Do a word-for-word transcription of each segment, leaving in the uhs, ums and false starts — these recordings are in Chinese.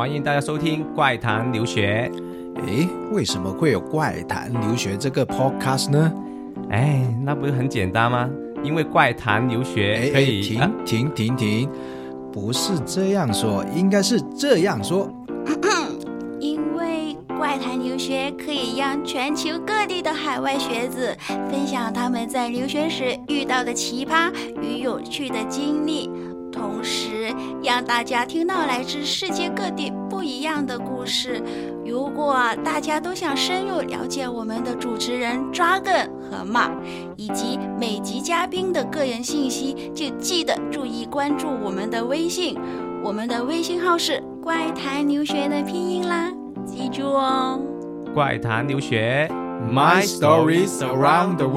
欢迎大家收听怪谈留学。 诶，为什么会有怪谈留学这个 podcast 呢？ 哎，那不是很简单吗？因为怪谈留学可以停、啊、停停停，不是这样说，应该是这样说。 因为怪谈留学可以让全球各地的海外学子分享他们在留学时遇到的奇葩与有趣的经历，同时让大家听到来自世界各地不一样的故事。如果大家都想深入了解我们的主持人 Dragon 和 Mark 以及每集嘉宾的个人信息，就记得注意关注我们的微信，我们的微信号是怪谈留学的拼音啦，记住哦。 怪谈留学 My stories around the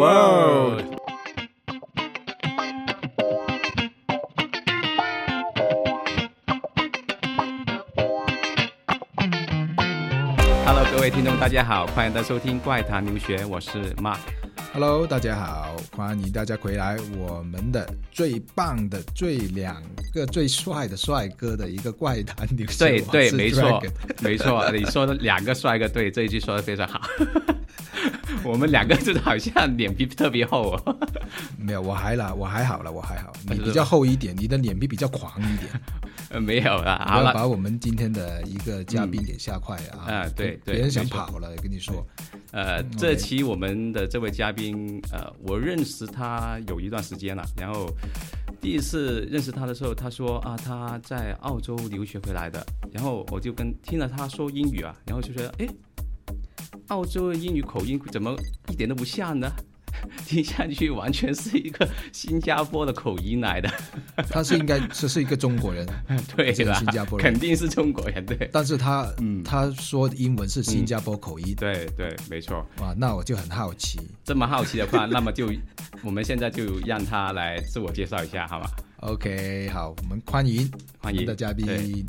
world。Hello， 各位听众，大家好，欢迎大家收听怪谈留学，我是 Mark。Hello， 大家好，欢迎大家回来，我们的最棒的、最两个最帅的帅哥的一个怪谈留学。 对对，没错，没错，你说的两个帅哥，对，这一句说的非常好。我们两个就好像脸皮特别厚哦。 没有，我还啦，我还好了，我还好，你比较厚一点，你的脸皮比较狂一点。 呃，没有啦， 好了，把我们今天的一个嘉宾给吓坏啊！ 啊、嗯，对对， 别人想跑了，跟你说。 呃，这期我们的这位嘉宾，呃，我认识他有一段时间了，然后第一次认识他的时候，他说啊，他在澳洲留学回来的，然后我就跟听了他说英语啊，然后就觉得，哎，澳洲的英语口音怎么一点都不像呢？听下去完全是一个新加坡的口音来的。 他是应该这是一个中国人， 对吧？ 新加坡人肯定是中国人，对。 但是他、嗯、他说的英文是新加坡口音， 嗯、对对，没错。 哇，那我就很好奇。 这么好奇的话，那么就我们现在就让他来自我介绍一下，好吗 ？OK， 好，我们欢迎欢迎的嘉宾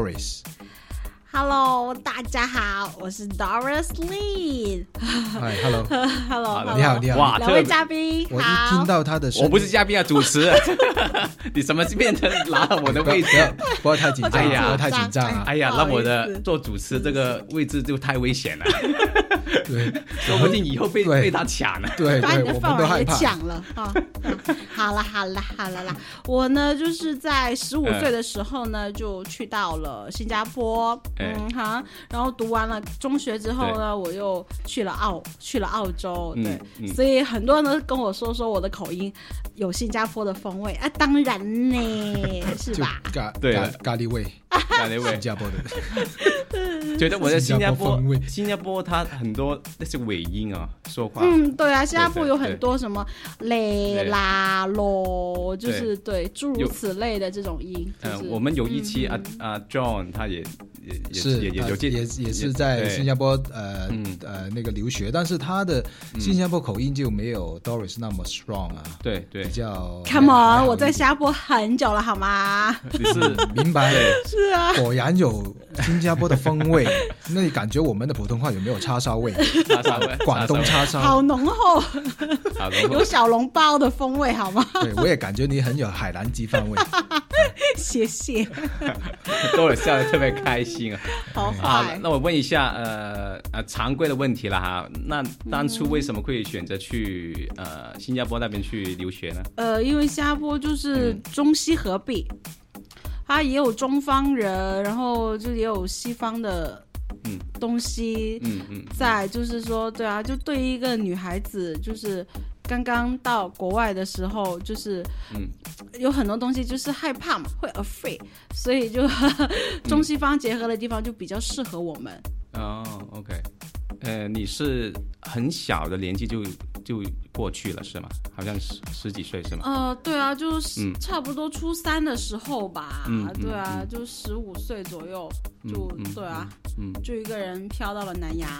Doris。Hello， 大家好，我是 Doris Lee。 嗨 ，Hello，Hello， 你好，你好， 哇， 两位嘉宾， 我一听到他的声音， 我不是嘉宾啊，主持。你怎么变成拿了我的位置？ 不要太紧张，不要太紧张啊！ 哎呀，那我的做主持这个位置就太危险了。 对， 说不定以后被被他抢了。 对对， 把你的饭碗也抢了啊！ 好了好了好了啦，我呢就是在十五岁的时候呢，就去到了新加坡，嗯哈，然后读完了中学之后呢，我又去了澳去了澳洲，对，所以很多人都跟我说说我的口音有新加坡的风味啊，当然呢，是吧？ 对，咖喱味， 咖喱味， 新加坡的。 觉得我在新加坡，新加坡它很多那些尾音啊，说话。 嗯，对啊，新加坡有很多什么嘞啦咯，就是对诸如此类的这种音。 嗯、就是呃，我们有一期、嗯、啊啊 John 他也也是也也有也也也是在新加坡呃、嗯、呃那个留学，但是他的新加坡口音就没有 Doris 那么 strong 啊。 对对， 比较 Come on， 我在新加坡很久了好吗？ 你是明白？ 是啊， 果然有新加坡的风味。那你感觉我们的普通话有没有叉烧味？ 叉烧味， 广东叉烧， 好浓厚，有小笼包的风味，好吗？ 对，我也感觉你很有海南鸡饭味。 谢谢， 都有笑得特别开心啊！ 好啊，那我问一下，呃呃，常规的问题了哈。那当初为什么会选择去、嗯、呃新加坡那边去留学呢？ 呃，因为新加坡就是中西合璧。嗯，它也有中方人，然后就也有西方的东西，嗯嗯，在就是说，对啊，就对于一个女孩子，就是刚刚到国外的时候，就是嗯，有很多东西就是害怕嘛，会 afraid， 所以就中西方结合的地方就比较适合我们。 哦 ，OK， 呃，你是很小的年纪就就过去了是吗？好像十十几岁是吗？ 呃，对啊，就是差不多初三的时候吧，嗯、对啊，嗯、就十五岁左右，就、嗯、对啊、嗯，就一个人飘到了南洋。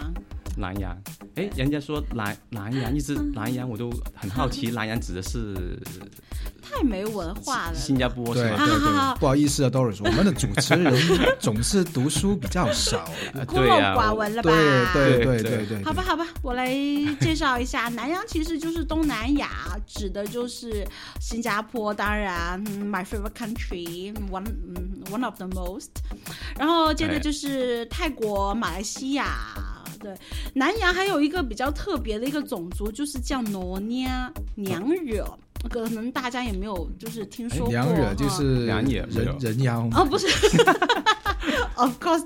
南洋。哎，人家说南南洋，一直南洋，我都很好奇，南洋指的是太没文化了。 新加坡是对吧？ 对对，不好意思啊 ，Doris， 我们的主持人总是读书比较少， 孤陋寡闻了吧？ 对对对对对。 好吧好吧，我来介绍一下，南洋其实就是东南亚，指的就是新加坡，当然、嗯、，my favorite country one、嗯、one of the most。然后接着就是泰国、马来西亚。对，南洋还有一个比较特别的一个种族，就是叫挪尼亚娘惹，可能大家也没有就是听说过。 娘惹就是娘惹人人妖哦，不是，of course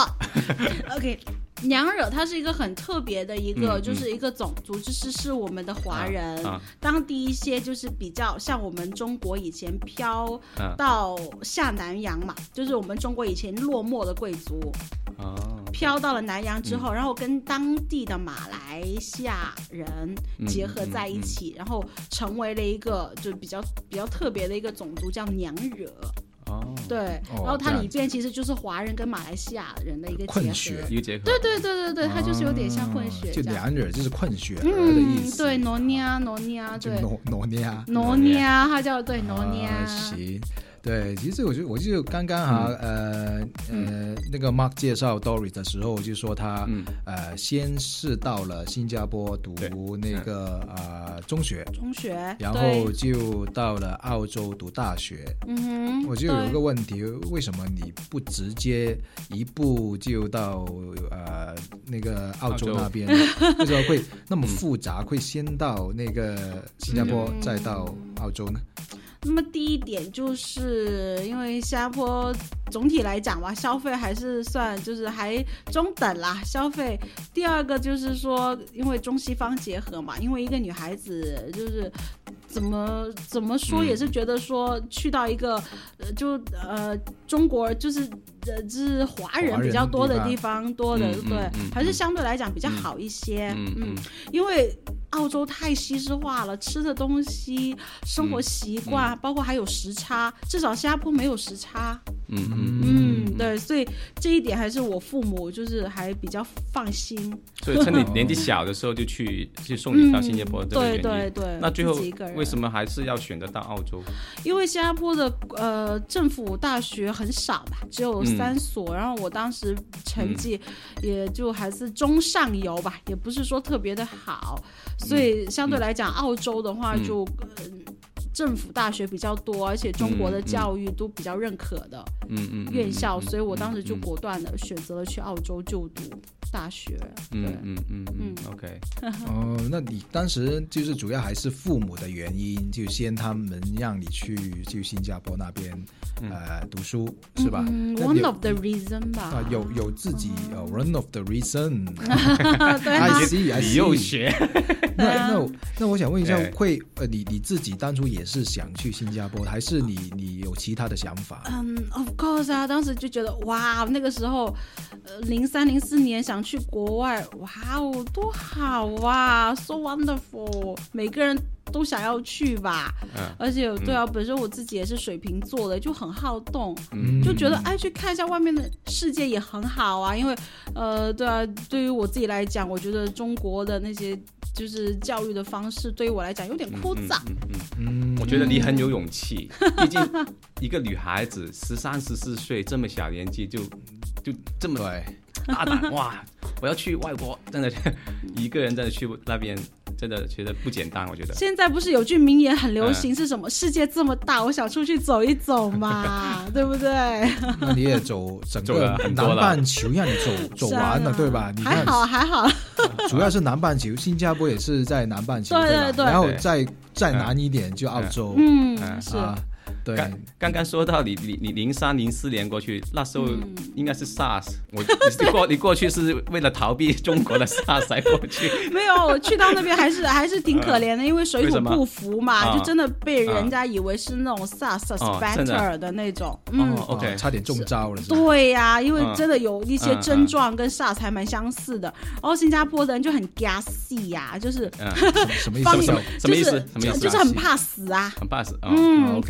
not。OK。娘惹它是一个很特别的一个、嗯、就是一个种族，就是是我们的华人、啊啊、当地一些就是比较像我们中国以前飘到下南洋嘛、啊、就是我们中国以前落寞的贵族、啊、飘到了南洋之后、嗯、然后跟当地的马来西亚人结合在一起、嗯嗯嗯、然后成为了一个就比较比较特别的一个种族叫娘惹。哦，对，然后它里边其实就是华人跟马来西亚人的一个混血， 一个结合。 对对对对对，它就是有点像混血， 就娘惹就是混血的意思。 嗯，对，挪尼亚，挪尼亚，对， 挪挪尼亚， 挪尼亚，它叫对挪尼亚。 行。对，其实我就我就刚刚哈、嗯、呃、嗯、呃那个 Mark 介绍 Doris 的时候，就说他、嗯、呃先是到了新加坡读那个呃中学， 中学， 然后就到了澳洲读大学。嗯哼，我就有一个问题，为什么你不直接一步就到呃那个澳洲那边？为什么会那么复杂？会先到那个新加坡，嗯、再到澳洲呢？ 那么第一点就是因为新加坡总体来讲吧，消费还是算就是还中等啦，消费。第二个就是说，因为中西方结合嘛，因为一个女孩子就是怎么怎么说也是觉得说去到一个呃就呃中国就是呃就是华人比较多的地方多的，对、嗯嗯，还是相对来讲比较好一些。嗯，嗯嗯因为澳洲太西式化了，吃的东西、生活习惯、嗯嗯，包括还有时差，至少新加坡没有时差。嗯嗯嗯，对，所以这一点还是我父母就是还比较放心。 所以趁你年纪小的时候就去就送你到新加坡，这个原因、嗯、 对对对。 那最后为什么还是要选择到澳洲？ 因为新加坡的呃政府大学很少吧，只有三所、嗯，然后我当时成绩也就还是中上游吧，也不是说特别的好。所以相对来讲、嗯、澳洲的话就、嗯呃、政府大学比较多，而且中国的教育都比较认可的院校、嗯嗯嗯、所以我当时就果断的选择了去澳洲就读大学。 嗯嗯嗯嗯 OK 哦，那你当时就是主要还是父母的原因，就先他们让你去去新加坡那边、嗯、呃读书是吧、 嗯、One of the reason 吧、 啊、有有自己、嗯 uh, One of the reason 对啊 I see I see 你又学那那那我想问一下，会呃你你自己当初也是想去新加坡，还是你你有其他的想法？ 嗯、um, ，of course 啊，当时就觉得哇，那个时候，呃，零三零四年想去国外，哇哦，多好啊 ，so wonderful， 每个人都想要去吧。嗯、而且对啊、嗯，本身我自己也是水瓶座的，就很好动，嗯、就觉得哎，去看一下外面的世界也很好啊。因为呃，对啊，对于我自己来讲，我觉得中国的那些。就是教育的方式对于我来讲有点枯燥。 嗯嗯嗯嗯、我觉得你很有勇气，毕竟一个女孩子十三十四岁这么小年纪就就这么大胆哇！我要去外国，真的一个人真的去那边。真的觉得不简单，我觉得。现在不是有句名言很流行，是什么？嗯、世界这么大，我想出去走一走嘛，对不对？ 那你也走整个南半球，让你走走完了，啊、对吧？你还好还好。 主要是南半球，新加坡也是在南半球， 对对对。 然后再再南一点就澳洲， 嗯，嗯是。啊对， 刚刚说到你你你零三零四年过去，那时候应该是 SARS，、嗯、我你过你过去是为了逃避中国的 SARS 才过去？ 没有，我去到那边还是还是挺可怜的，因为水土不服嘛，就真的被人家以为是那种 SARS suspector 的那种， 哦、嗯、哦 ，OK， 差点中招了。 对呀、啊，因为真的有一些症状跟 SARS 还蛮相似的，然后新加坡的人就很 gassy 呀，就是什么意思？ 什么意思？什么意思？ 就是很怕死啊， 很怕死， 嗯 ，OK。 gassy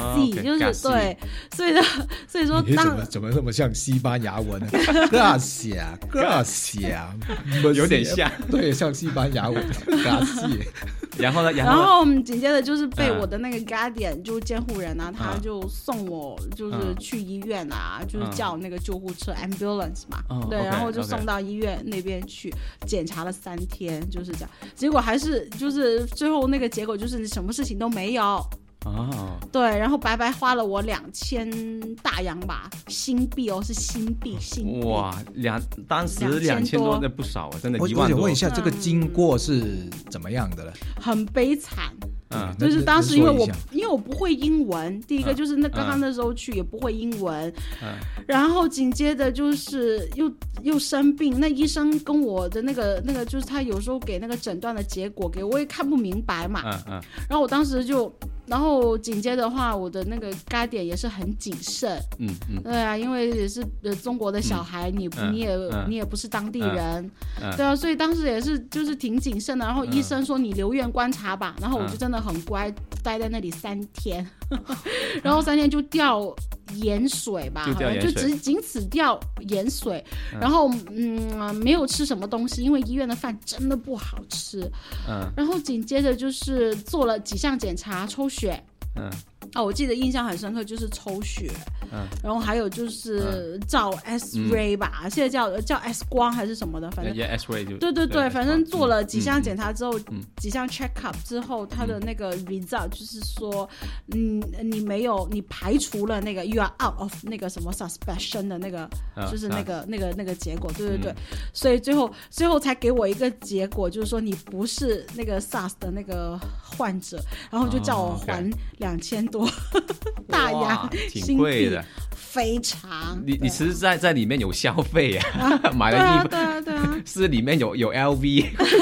，gassy、哦、就是 gassy 对，所以呢，所以说你怎么怎么那么像西班牙文呢 ？Gracia Gracia 有点像， 对，像西班牙文 Gracia。 然后呢， 然后紧接着就是被我的那个 guardian、嗯、就是监护人啊，他就送我就是去医院啊，嗯、就是叫那个救护车、嗯、ambulance 嘛，嗯、对， okay, 然后就送到医院那边去检查了三天，就是这样，结果还是就是最后那个结果就是什么事情都没有。 哦， 对，然后白白花了我两千大洋吧，新币哦，是新币，新币哇，两当时两千多那不少啊，真的，一万多。 我想问一下，这个经过是怎么样的呢？ 很悲惨。 嗯， 就是当时因为我因为我不会英文，第一个就是那刚刚那时候去也不会英文，嗯，然后紧接着就是又又生病，那医生跟我的那个那个就是他有时候给那个诊断的结果给我也看不明白嘛， 嗯嗯， 然后我当时就，然后紧接着的话，我的那个guardian也是很谨慎， 嗯嗯， 对啊，因为也是呃中国的小孩，嗯、你嗯你也、 嗯、 你也不是当地人， 嗯、 对啊，所以当时也是就是挺谨慎的。然后医生说你留院观察吧，然后我就真的很乖，待在那里三天，然后三天就掉盐水吧， 就掉盐水， 就只仅此掉盐水，嗯、然后嗯没有吃什么东西，因为医院的饭真的不好吃， 嗯， 然后紧接着就是做了几项检查，抽血， 嗯。 哦，我记得印象很深刻，就是抽血， 嗯， 然后还有就是照 X ray 吧，嗯、现在叫叫 X 光还是什么的，反正 yeah, X ray 就对对对，反正做了几项检查之后， 嗯、 几项 check up 之后，他的那个 result 就是说，嗯，你没有，你排除了那个 you are out of 那个什么 suspicion 的那个， 啊、 就是那个、啊、那个那个结果，对对对， 嗯、 所以最后最后才给我一个结果，就是说你不是那个 SARS 的那个患者，然后就叫我还两千多。 哦 okay 大洋挺贵的， 非常。 你你是在在里面有消费啊？ 啊买了衣服， 对啊对啊，对啊是里面有有 L V。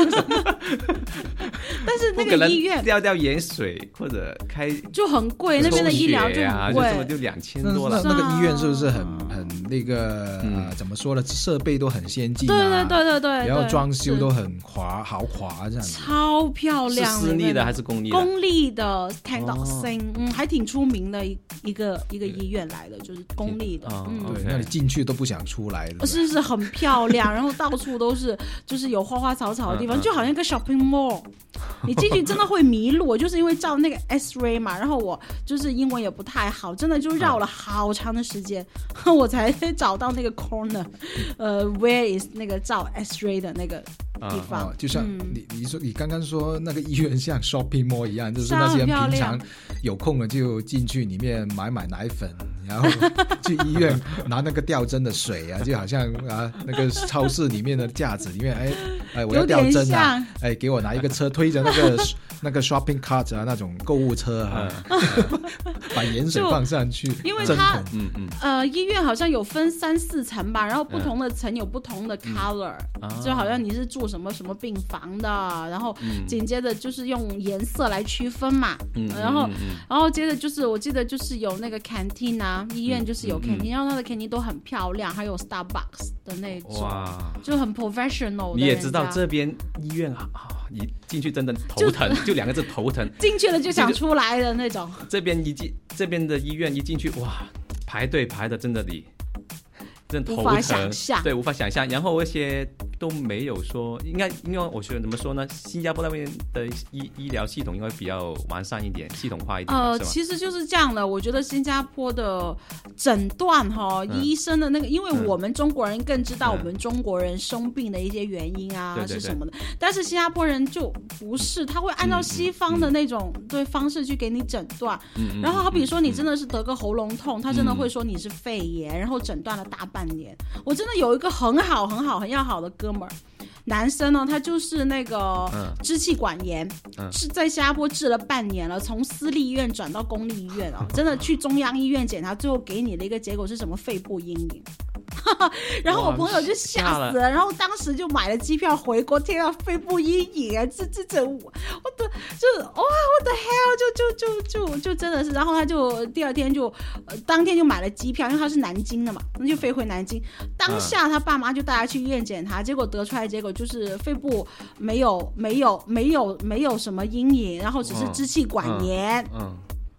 但是那个医院掉掉盐水或者开就很贵，那边的医疗就很贵， 就就两千多了。 那那个医院是不是很很那个、嗯呃、怎么说呢？设备都很先进、啊， 对对对对对， 然后装修都很华豪华这样子， 超漂亮。 是私立的还是公立的？ 公立的 Tandoxing，、哦、嗯，还挺出名的一一个一个医院来的，就是公立的。 哦、 嗯， 对，那你进去都不想出来了。 是是很漂亮，然后到处都是就是有花花草草的地方， 嗯、 就好像一个 shopping mall。你进去真的会迷路，我就是因为照那个 X-ray 嘛，然后我就是英文也不太好，真的就绕了好长的时间，嗯、我才找到那个 corner， 呃 ，where is 那个照 X-ray 的那个地方。 哦、就像你、嗯、你说你刚刚说那个医院像 shopping mall 一样，就是那些人平常有空了就进去里面买买奶粉，然后去医院拿那个吊针的水啊，就好像啊那个超市里面的架子里面，哎哎我要吊针啊，哎给我拿一个车推着那个那个 shopping cart 啊，那种购物车啊，嗯、把盐水放上去， 因为它嗯嗯呃医院好像有分三四层吧，然后不同的层有不同的 color，、嗯、就好像你是住什么什么病房的，然后紧接着就是用颜色来区分嘛， 嗯、 然后、 嗯嗯、 然后接着就是我记得就是有那个 canteen 啊，医院就是有 canteen，、嗯嗯、然后它的 canteen 都很漂亮，还有 Starbucks 的那种，哇，就很 professional 的。 你也知道这边医院啊，你进去真的头疼，就, 就两个字头疼， 进去了就想出来的那种。 这边一进这边的医院一进去，哇，排队排的真的你。真头疼， 无法想象， 对，无法想象。然后一些都没有说，应该，因为我觉得怎么说呢？新加坡那边的医医疗系统应该比较完善一点，系统化一点。 呃，其实就是这样的。我觉得新加坡的诊断哈、嗯，医生的那个，因为我们中国人更知道我们中国人生病的一些原因啊、嗯、是什么的，对对对，但是新加坡人就不是，他会按照西方的那种、嗯、对方式去给你诊断。嗯、然后好比说你真的是得个喉咙痛，嗯、他真的会说你是肺炎，然后诊断了大半年。我真的有一个很好很好很要好的哥们儿，男生呢，他就是那个支气管炎，嗯、是在新加坡治了半年了，从私立医院转到公立医院啊，真的去中央医院检查，最后给你的一个结果是什么肺部阴影。然后我朋友就吓死了，了然后当时就买了机票回国，天啊，肺部阴影啊，这这这，我的就哇，我的 hell， 就就就就就真的是，然后他就第二天就、呃、当天就买了机票，因为他是南京的嘛，那就飞回南京。当下他爸妈就带他去医院检查，结果得出来结果就是肺部没有没有没有没有什么阴影，然后只是支气管炎。嗯。嗯嗯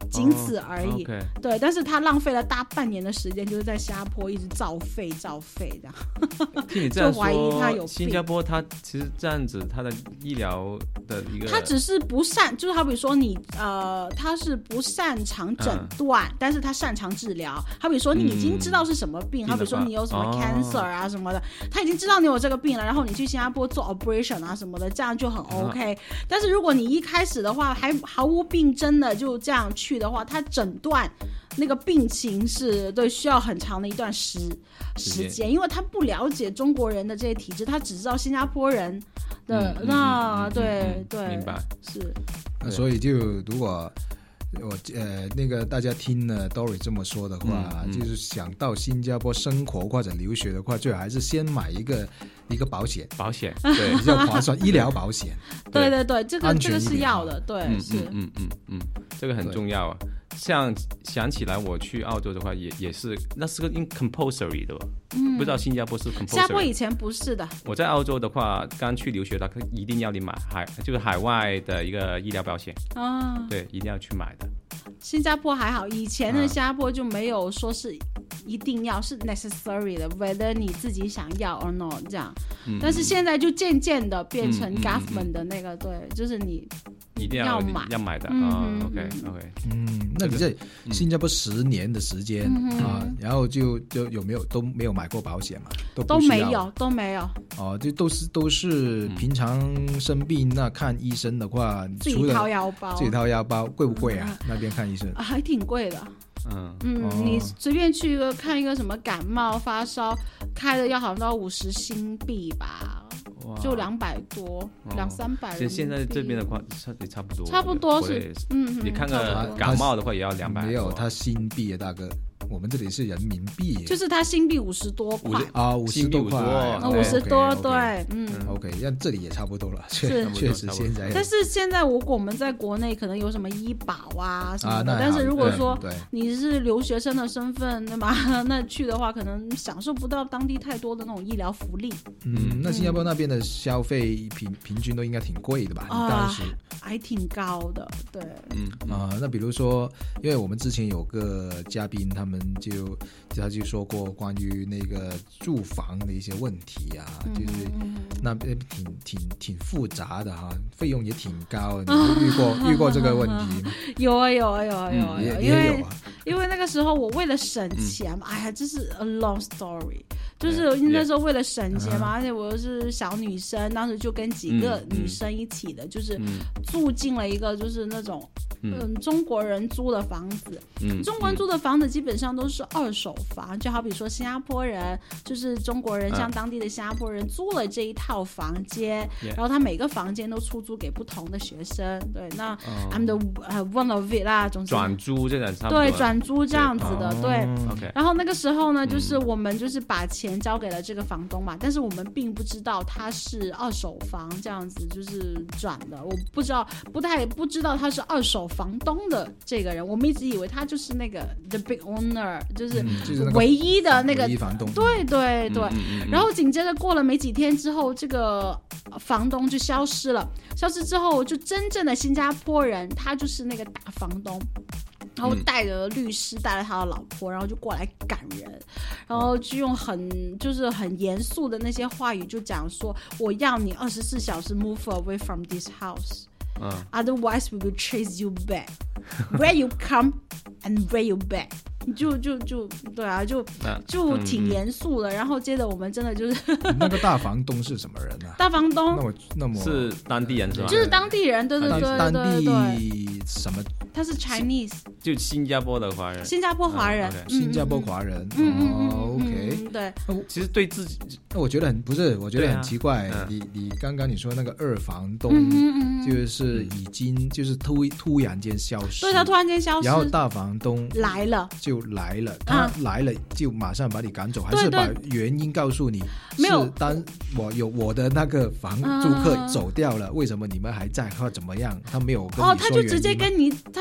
仅此而已。 哦 okay、 对，但是他浪费了大半年的时间，就是在新加坡一直造废造废这样。 听你这样说， 就怀疑他有病。 新加坡他其实这样子，他的医疗的一个， 他只是不擅，就是好比说你呃，他是不擅长诊断，嗯、但是他擅长治疗。好比说你已经知道是什么病，嗯、好比说你有什么 cancer 啊什么的，哦、他已经知道你有这个病了，然后你去新加坡做 operation 啊什么的，这样就很 OK、嗯。但是如果你一开始的话还毫无病征的就这样去的话，他诊断那个病情是对需要很长的一段时时间，因为他不了解中国人的这些体质，他只知道新加坡人的、嗯、那、嗯、对、嗯、对， 明白是。 那所以就如果我呃那个大家听了 Dory 这么说的话、嗯嗯，就是想到新加坡生活或者留学的话，最好还是先买一个一个保险， 保险对比较划算，医疗保险。 对对对，这个这个是要的，对， 嗯、 是， 嗯嗯嗯，这个很重要啊。像想起来我去澳洲的话也也是，那是个 compulsory 的、嗯、不知道新加坡是 compulsory。 新加坡以前不是的。 我在澳洲的话刚去留学的一定要你买海就是海外的一个医疗保险、哦、对，一定要去买的。 新加坡还好，以前的新加坡就没有说是一定要、啊、是 necessary 的 whether 你自己想要 or not 这样、嗯、但是现在就渐渐的变成 government 的那个、嗯嗯嗯、对，就是你一定要买要买的、 嗯哦、OK OK。 嗯，那你在新加坡十年的时间、嗯、啊，然后就就有没有都没有买过保险嘛？都都没有都没有哦，就都是都是平常生病那看医生的话， 自己掏腰包， 自己掏腰包贵不贵啊、嗯？那边看医生、 啊、还挺贵的。 嗯嗯、哦，你随便去一个看一个什么感冒发烧，开的要好像到五十新币吧。就两百多，两三百。 其实现在这边的话，也差不多， 差不多是，嗯， 你看个感冒的话，也要两百。 没有，它新币啊，大哥，我们这里是人民币， 就是它新币五十多块啊，五十多块， 五十多，对，嗯 ，OK， 那这里也差不多了，是确实现在。 但是现在如果我们在国内可能有什么医保啊什么的，但是如果说你是留学生的身份，对吗？那去的话，可能享受不到当地太多的那种医疗福利。 嗯，那新加坡那边的消费平平均都应该挺贵的吧？你当时还挺高的，对， 嗯啊，那比如说，因为我们之前有个嘉宾，他们就他就说过关于那个住房的一些问题啊，嗯、就是那边挺挺挺复杂的哈，费用也挺高，你有遇过、啊、遇过这个问题吗？ 有啊有啊有啊有啊， 嗯、也因为也有啊， 因为那个时候我为了省钱嘛、嗯，哎呀，这是 a long story。就是那时候为了省钱嘛， yeah, yeah. 而且我又是小女生，当时就跟几个女生一起的，嗯、就是住进了一个就是那种嗯、呃、中国人租的房子。嗯，中国人租的房子基本上都是二手房，就好比说新加坡人就是中国人，像当地的新加坡人租了这一套房间， yeah. 然后他每个房间都出租给不同的学生。对，那 I'm the、uh, one of it 啦，总之转租这样差不多。 对，转租这样子的，对。 对 OK。 然后那个时候呢，就是我们就是把钱钱交给了这个房东嘛，但是我们并不知道他是二手房这样子就是转的，我不知道，不太不知道他是二手房东的这个人，我们一直以为他就是那个 the big owner， 就是唯一的那个、 嗯就是、房东， 对对对、嗯嗯。然后紧接着过了没几天之后，这个房东就消失了，消失之后就真正的新加坡人，他就是那个大房东。然后带着律师，带着他的老婆，然后就过来赶人，然后就用很就是很严肃的那些话语，就讲说我要你二十四小时 move away from this house，嗯、otherwise we will chase you back where you come and where you back。就就就对啊，就就挺严肃的、嗯。然后接着我们真的就是那个大房东是什么人啊？ 大房东那我那么是当地人是吧？ 就是当地人，对对对对对对。 当地什么？ 他是 Chinese， 就新加坡的华人。 新加坡华人， 嗯 okay. 新加坡华人。 嗯嗯嗯哦 ，OK， 嗯对。 其实对自己， 我觉得很不是，我觉得很奇怪。啊、你你刚刚你说那个二房东，嗯、就是已经就是突突然间消失， 对，他突然间消失， 然后大房东来了， 就来了。他来了就马上把你赶走，还是把原因告诉你？ 没有， 当我有我的那个房租客走掉了，嗯、为什么你们还在或怎么样？他没有跟你说原因吗？ 哦，他就直接跟你，他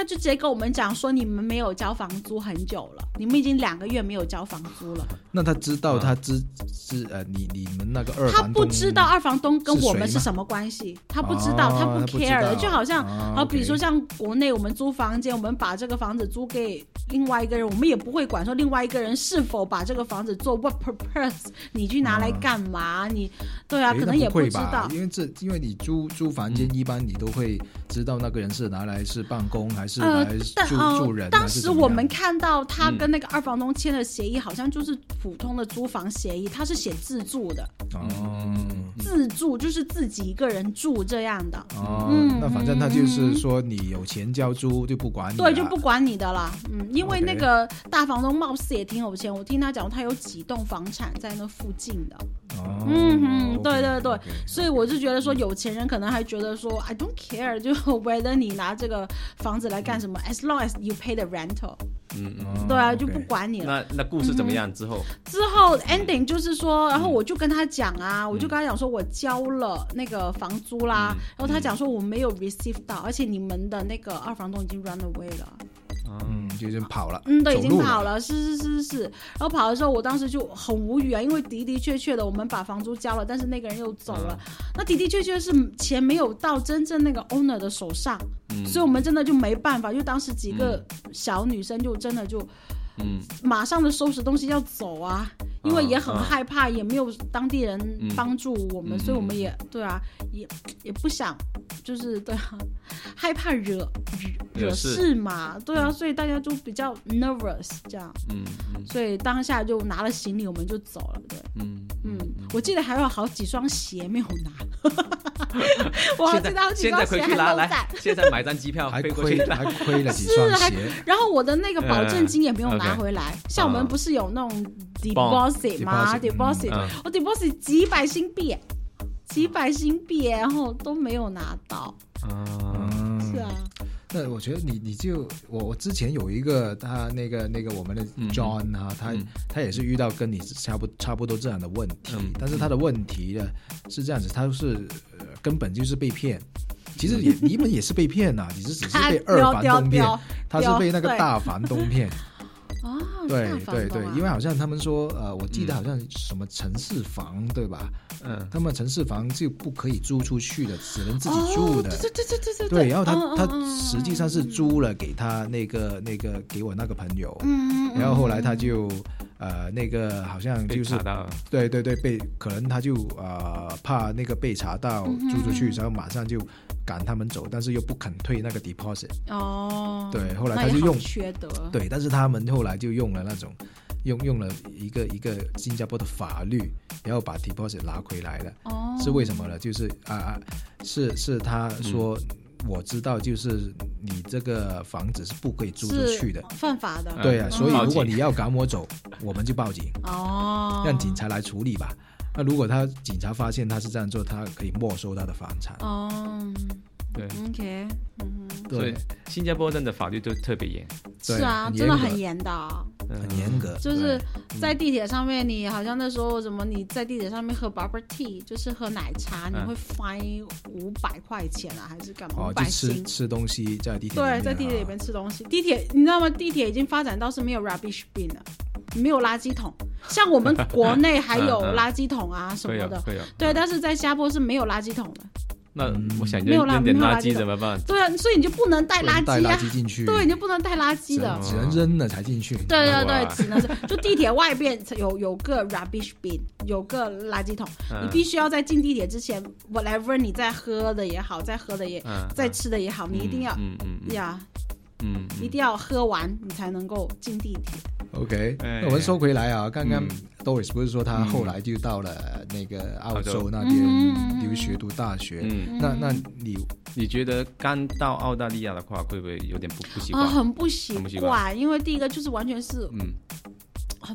就直接跟我们讲说你们没有交房租很久了，你们已经两个月没有交房租了。 那他知道他知知呃你你们那个二房东， 他不知道二房东跟我们是什么关系，他不知道， 哦、 他不 care 的，就好像好、 哦、 比如说像国内我们租房间，我们把这个房子租给另外一个人，我们也不会管说另外一个人是否把这个房子做 what purpose， 你去拿来干嘛？哦、你对啊，可能也不知道， 因为这因为你租租房间，一般你都会知道那个人是拿来是办公还是拿来住、呃、住人。 当时我们看到他跟那个二房东签的协议，好像就是普通的租房协议，他是写自住的。哦，自住就是自己一个人住这样的。 哦，嗯、那反正他就是说你有钱交租就不管你了， 对，就不管你的啦。嗯，因为那个大房东貌似也挺有钱，我听他讲他有几栋房产在那附近的。 哦， 嗯哼，对对对， okay, okay, okay. 所以我就觉得说有钱人可能还觉得说 I don't care， 就 whether 你拿这个房子来干什么、嗯、as long as you pay the rental。嗯嗯，对啊， okay. 就不管你了。 那那故事怎么样？之后、 嗯、之后 ending 就是说，然后我就跟他讲啊、嗯，我就跟他讲说我交了那个房租啦，嗯、然后他讲说我没有 receive 到，而且你们的那个二房东已经 run away 了。 嗯，就已经跑了。 嗯，对，已经跑了，是是是是。然后跑的时候，我当时就很无语啊，因为的的确确的，我们把房租交了，但是那个人又走了。嗯、那的的确确是钱没有到真正那个 owner 的手上，嗯、所以我们真的就没办法。就当时几个小女生就真的就，嗯，马上的收拾东西要走啊，因为也很害怕，啊、也没有当地人帮助我们，嗯、所以我们也对啊，也也不想。就是对啊，害怕惹惹事嘛，对啊，所以大家就比较 nervous 这样，嗯嗯，所以当下就拿了行李我们就走了，对，嗯嗯，我记得还有好几双鞋没有拿，我还记得好几双鞋还都在， 现在买张机票还亏还亏了几双鞋， 然后我的那个保证金也没有拿回来，嗯、像我们不是有那种 deposit 吗 ？deposit，、嗯、我 deposit 几百新币。几百新币，然后都没有拿到。嗯，是啊。 那我觉得你你就我我之前有一个他那个那个我们的 John 啊，嗯、他、嗯、他也是遇到跟你差不差不多这样的问题，嗯、但是他的问题呢是这样子，他是、呃、根本就是被骗。其实也你们也是被骗呐、啊，你是只是被二房东骗，他是被那个大房东骗。 哦， 对对对， 啊、 因为好像他们说，呃，我记得好像什么城市房，嗯、对吧？嗯，他们城市房就不可以租出去的，只能自己住的。 哦、对对对对对对。然后他、 嗯、 他实际上是租了给他那个那个给我那个朋友，嗯，然后后来他就呃那个好像就是对对对被可能他就呃怕那个被查到租出去，然后马上就赶他们走，但是又不肯退那个 deposit。 哦， 对，后来他就用缺德。 对，但是他们后来就用了那种用用了一个一个新加坡的法律，然后把 deposit 拿回来了。哦，是为什么呢？就是啊，是是他说、嗯、我知道，就是你这个房子是不可以租出去的， 犯法的。 对啊，所以如果你要赶我走，我们就报警。 哦， 让警察来处理吧。那如果他警察发现他是这样做，他可以没收他的房产。 哦， 对 ，OK， 嗯哼，所以新加坡真的法律都特别严。 是啊，真的很严的、啊， 很严格。 就是在地铁上面，你好像那时候什么，你在地铁上面喝 bubble tea， 就是喝奶茶，你会 fine 五百块钱啊，还是干嘛？ 哦，就吃吃东西在地铁对，在地铁里面吃东西。地铁你知道吗？地铁已经发展到是没有 rubbish bin 了。没有垃圾桶，像我们国内还有垃圾桶啊什么的，对，但是在新加坡是没有垃圾桶的。 那我想扔扔点垃圾怎么办？ 对啊，所以你就不能带垃圾啊， 带垃圾进去， 对，你就不能带垃圾的， 只能扔了才进去。 对对对，只能是就地铁外边有有个 rubbish bin， 有个垃圾桶，你必须要在进地铁之前 ，whatever 你在喝的也好，在喝的也，在吃的也好，你一定要呀。嗯，一定要喝完你才能够进地铁。 OK， 那我们说回来啊，刚刚 Doris 不是说他后来就到了那个澳洲那边留学读大学？嗯，那那你你觉得刚到澳大利亚的话，会不会有点不不习惯？ 啊，很不习惯，因为第一个就是完全是嗯。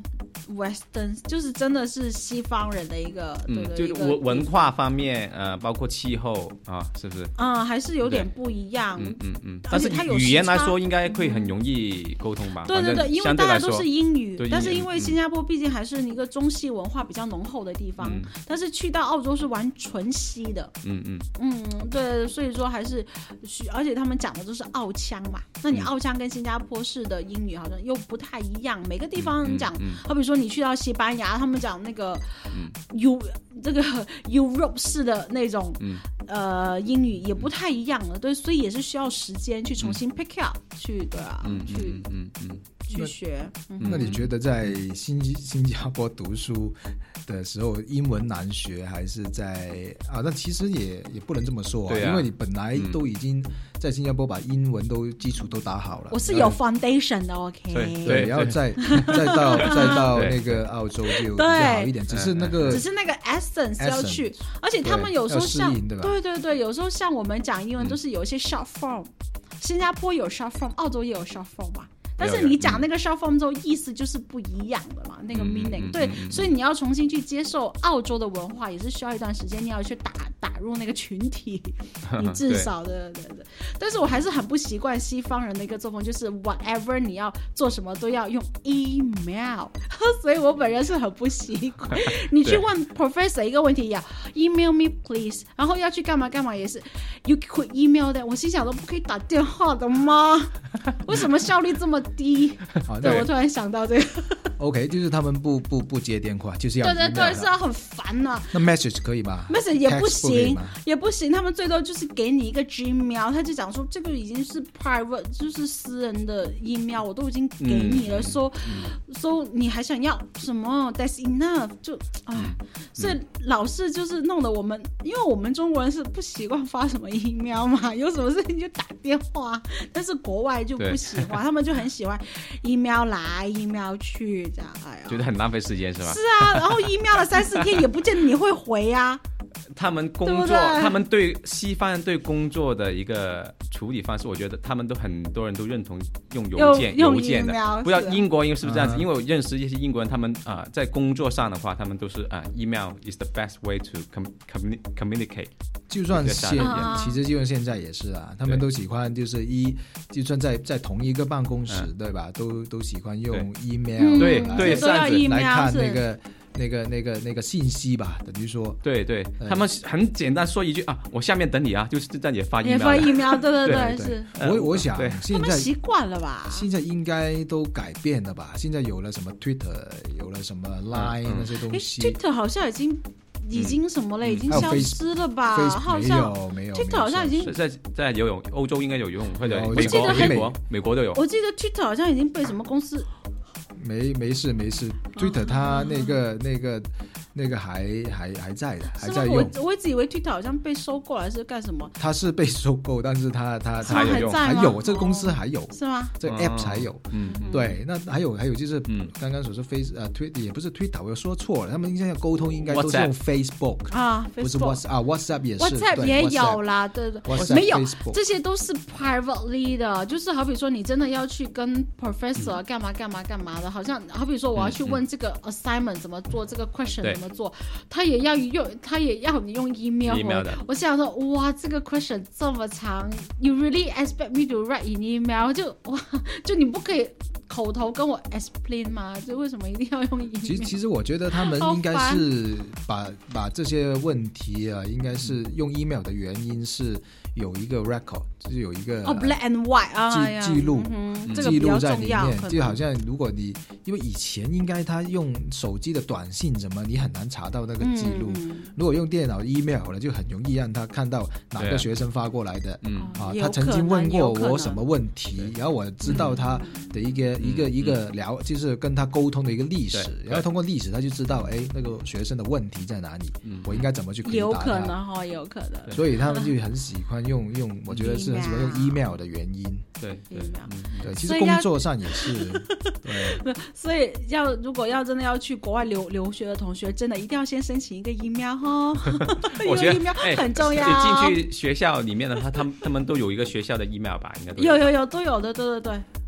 Western， 就是真的是西方人的一个， 嗯， 对对，就是文文化方面，呃，包括气候啊，是不是？ 嗯，还是有点不一样。 嗯嗯嗯。但是语言来说，应该会很容易沟通吧？ 对对对，因为大家都是英语， 对， 但是因为新加坡毕竟还是一个中西文化比较浓厚的地方，嗯、但是去到澳洲是玩纯西的。嗯嗯嗯，对，所以说还是，而且他们讲的都是澳腔嘛，那你澳腔跟新加坡式的英语好像又不太一样，每个地方讲，嗯嗯嗯、好比说你去到西班牙，他们讲那个 U、嗯、这个 Europe 式的那种、嗯、呃英语也不太一样了，对，所以也是需要时间去重新 pick up、嗯、去对啊，嗯、去嗯嗯嗯去学。 那, 嗯、那你觉得在新新加坡读书的时候，英文难学还是在啊？那其实也也不能这么说啊，啊因为你本来都已经在新加坡把英文都基础都打好了。 我是有 foundation 的 ，OK。 对对，然后再再到再到那个澳洲就比较好一点，只是那个只是那个 essence 要去，而且他们有时候像对对对，有时候像我们讲英文都是有一些 short form，、嗯、新加坡有 short form， 澳洲也有 short form 嘛。但是你讲那个 short form 之后，意思就是不一样的嘛，那个 meaning、嗯、对、嗯，所以你要重新去接受澳洲的文化，也是需要一段时间，你要去打打入那个群体，你至少的对对对。但是我还是很不习惯西方人的一个作风，就是 whatever 你要做什么都要用 email， 所以我本人是很不习惯。你去问 professor 一个问题要 email me please， 然后要去干嘛干嘛也是 you could email that， 我心想都不可以打电话的吗？为什么效率这么低？对，我突然想到这个。 OK， 就是他们不不不接电话，就是要对对对，是要很烦啊。 那 message 可以吗 ？message 也不行，也不行。他们最多就是给你一个 Gmail， 他就讲说这个已经是 private， 就是私人的 email， 我都已经给你了，说、嗯、说你还想要什么 ？That's enough， 就哎、嗯，所以老是就是弄得我们，因为我们中国人是不习惯发什么 email 嘛，有什么事情就打电话，但是国外就不喜欢，他们就很喜欢 email 来 email 去。哎呀， 觉得很浪费时间是吧？ 是啊，然后 email 了三四天也不见得你会回啊。 他们工作， 对对， 他们对西方人对工作的一个处理方式，我觉得他们都很多人都认同用邮件， 邮件的。不知道英国因为是不是这样子？嗯、因为我认识一些英国人，他们啊、呃、在工作上的话，他们都是啊、呃、email is the best way to com communicate。 就算现、嗯、其实就算现在也是啊，他们都喜欢就是一，就算在在同一个办公室，嗯、对吧？都都喜欢用 email， 对对， 都要 email 来看那个。那个、那个、那个信息吧，等于说， 对对，他们很简单说一句啊，我下面等你啊，就是在你发 email， 也发 email， 对对 对, 对，是。 我我想现在他们习惯了吧？ 现在应该都改变了吧？现在有了什么 Twitter， 有了什么 Line、嗯、那些东西。 Twitter 好像已经已经什么了，嗯、已经消失了吧？ 嗯、 好像没有没有 Twitter 好像已经在在游泳，欧洲应该有游泳，或者美国美国美国都有。 我记得 Twitter 好像已经被什么公司。 没没事没事 ，Twitter 它那个、哦、那个那个还还还在的，还在用。 我我一直以为 Twitter 好像被收购还是干什么？ 它是被收购，但是它它它还在还有这个公司还有、哦、 是吗？ 这个 Apps 还有，嗯，对。那还有还有就是刚刚所说 Face 呃 Twitter 也不是 Twitter， 我说错了，他们应该要沟通应该都是用 Facebook 啊， 不是 WhatsApp 啊 ，WhatsApp 也是 ，WhatsApp 也有啦，对对，没有，这些都是 privately 的，就是好比说你真的要去跟 professor 干嘛干嘛干嘛的，好像好比说我要去问这个 assignment 怎么做，这个 question 怎么做，他也要用，他也要你用 email。 email 的。 我想说，哇，这个 question 这么长 ，you really expect me to write in email？ 就哇，就你不可以口头跟我 explain 吗？就为什么一定要用 email？ 其实，其实我觉得他们应该是把把这些问题啊，应该是用 email 的原因是有一个 record， 就是有一个哦、oh, black and white 啊， 记记录、 嗯， 记录在里面，就好像如果你因为以前应该他用手机的短信什么，你很难查到那个记录。嗯、如果用电脑 email 了，就很容易让他看到哪个学生发过来的，嗯啊，他曾经问过我什么问题，然后我知道他的一个、嗯、一个、嗯、一个聊，就是跟他沟通的一个历史，然后通过历史他就知道，哎，那个学生的问题在哪里，嗯、我应该怎么去回答他。 有可能哈，有可能。 所以他们就很喜欢用用，我觉得是很喜欢用 email 的原因。 对对、 嗯、对，其实工作上也是。对， 所以要如果要真的要去国外留留学的同学，真的一定要先申请一个 email 哈。 我觉得 email 很重要。 进去学校里面的话，他们他们都有一个学校的 email 吧，应该都有有有都有的，对对对。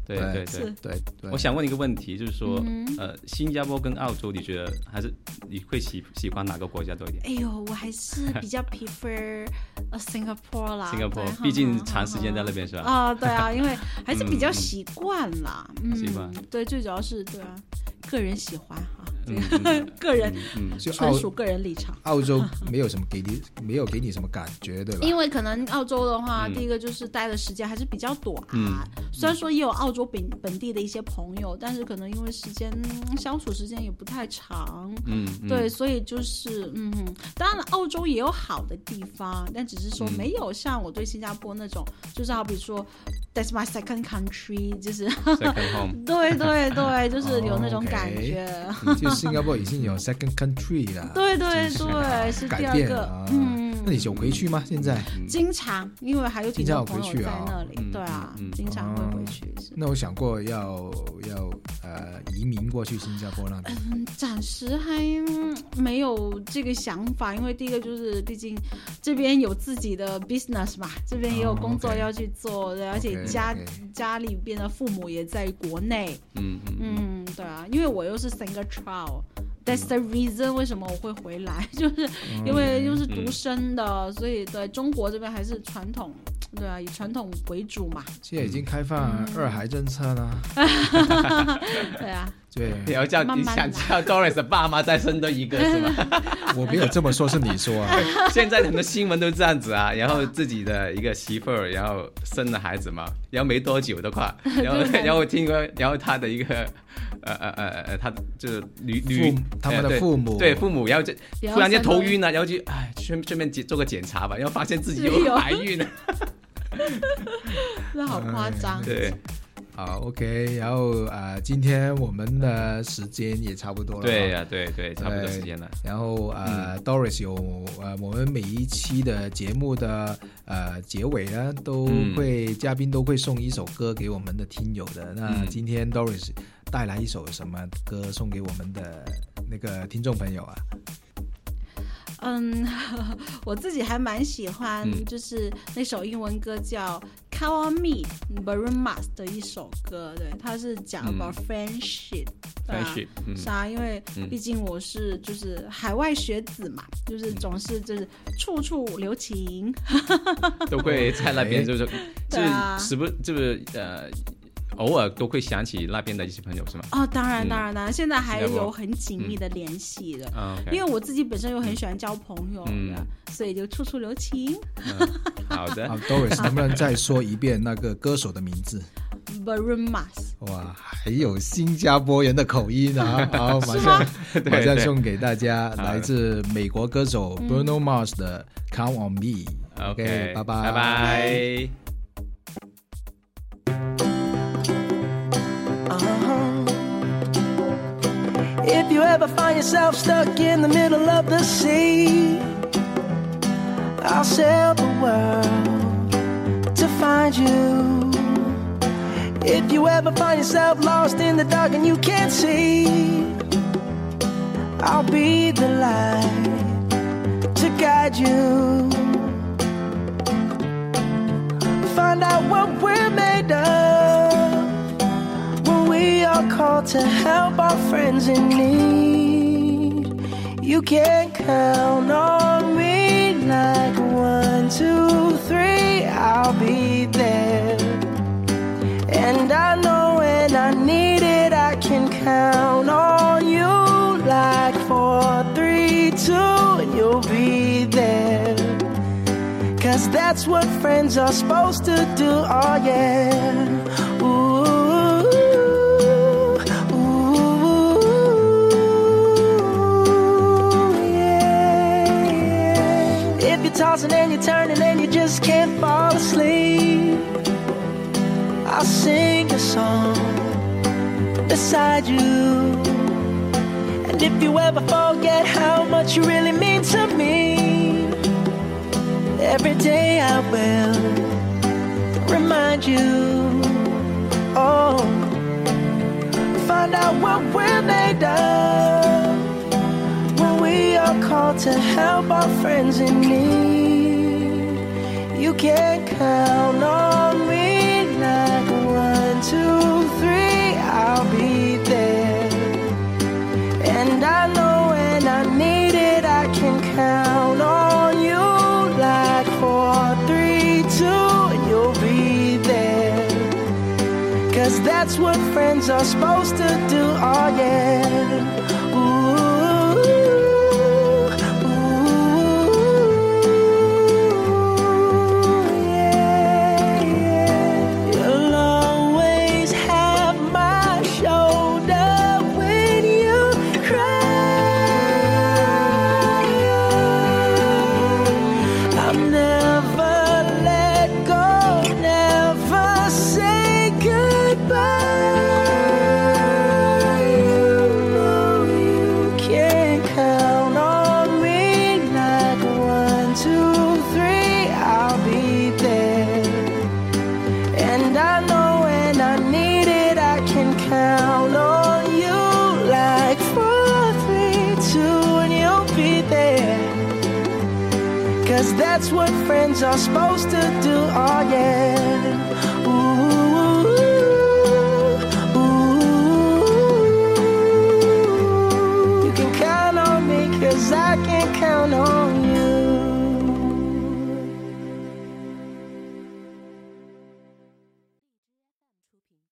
对对对对对。 我想问一个问题，就是说，嗯、呃，新加坡跟澳洲，你觉得还是你会喜喜欢哪个国家多一点？ 哎呦，我还是比较 prefer Singapore 啦。 Singapore， 毕竟长时间在那边是吧？ 啊、呃，对啊，因为还是比较习惯啦。嗯， 习惯、 嗯。对，最主要是对啊，个人喜欢哈。这个、嗯、个人嗯，纯属个人立场。 澳洲没有什么给你，没有给你什么感觉，对吧？ 因为可能澳洲的话，嗯、第一个就是待的时间还是比较短。嗯，虽然说也有澳洲本本地的一些朋友，但是可能因为时间、嗯、相处时间也不太长。嗯，对，所以就是嗯，当然澳洲也有好的地方，但只是说没有像我对新加坡那种，嗯、就是好比说 ，That's my second country， 就是 second home 对对对，就是有那种感觉。 Oh, okay. 新加坡已经有 second country 了， 对对对，是第二个。 啊、嗯，那你有回去吗？现在经常，因为还有挺多朋友在那里， 啊、 对啊、嗯，经常会回去。 嗯、那我想过要要呃移民过去新加坡那边， 嗯，暂时还没有这个想法，因为第一个就是毕竟这边有自己的 business 嘛，这边也有工作要去做，哦、而且家 okay, okay. 家里边的父母也在国内，嗯嗯嗯，对啊，因为我又是 single child。That's the reason 为什么我会回来，就是因为又是独生的，嗯、所以对中国这边还是传统，对啊，以传统为主嘛。 现在已经开放二孩政策了。 嗯、对啊。 对， 你要叫你想叫 Doris 的爸妈再生多一个是吗？ 我没有这么说，是你说啊。 现在很多新闻都这样子啊，然后自己的一个媳妇儿，然后生了孩子嘛，然后没多久的话，然后然后听说，然后他的一个呃呃呃呃，他就是女女他们的父母、 呃、对, 对父母，然后就突然间头晕了，然后就哎顺顺便做个检查吧，然后发现自己有怀孕了， 那好夸张。 嗯、对。 好 ，OK， 然后啊、呃，今天我们的时间也差不多了。 对呀、啊，对对，差不多时间了。 然后啊、呃嗯、，Doris 有呃，我们每一期的节目的呃结尾呢，都会、嗯、嘉宾都会送一首歌给我们的听友的。那今天 Doris 带来一首什么歌送给我们的那个听众朋友啊？ 嗯，我自己还蛮喜欢，就是那首英文歌叫《Call on Me》Maroon Mars 的一首歌，对，它是讲 about friendship，、 嗯、friendship，、 嗯、是啊，因为毕竟我是就是海外学子嘛，嗯、就是总是就是处处留情， 都会在那边就是就是时不就是呃。偶尔都会想起那边的一些朋友是吗？ 哦，当然当然当然，现在还有很紧密的联系的、 嗯 okay. 因为我自己本身又很喜欢交朋友的、嗯、所以就处处留情、 嗯、好的。 好 Doris 能不能再说一遍那个歌手的名字？ Maroon Mars。 哇，还有新加坡人的口音啊！好，马上马上送给大家来自美国歌手 Bruno Mars 的 Count on Me。 OK， 拜拜拜拜。 If you ever find yourself stuck in the middle of the sea, I'll sail the world to find you. If you ever find yourself lost in the dark and you can't see, I'll be the light to guide you. Find out what we're made of when we are called to help our friends in need. You can count on me like one, two, three, I'll be there. And I know when I need it, I can count on you like four, three, two, and you'll be there. Cause that's what friends are supposed to do, oh yeah. Ooh, ooh, yeah, yeah. If you're tossing and you're turning and you just can't fall asleep, I'll sing a song beside you. And if you ever forget how much you really mean to me, every day I will remind you. Oh, find out what we're made of when we are called to help our friends in need. You can count on me like one, two, friends are supposed to do. Oh yeah. Ooh, ooh, yeah, yeah. You'll always have my shoulder when you cry. I'll never let go, never say goodbye. That's what friends are supposed to do. Oh yeah. Ooh, ooh, you can count on me 'cause I can count on you.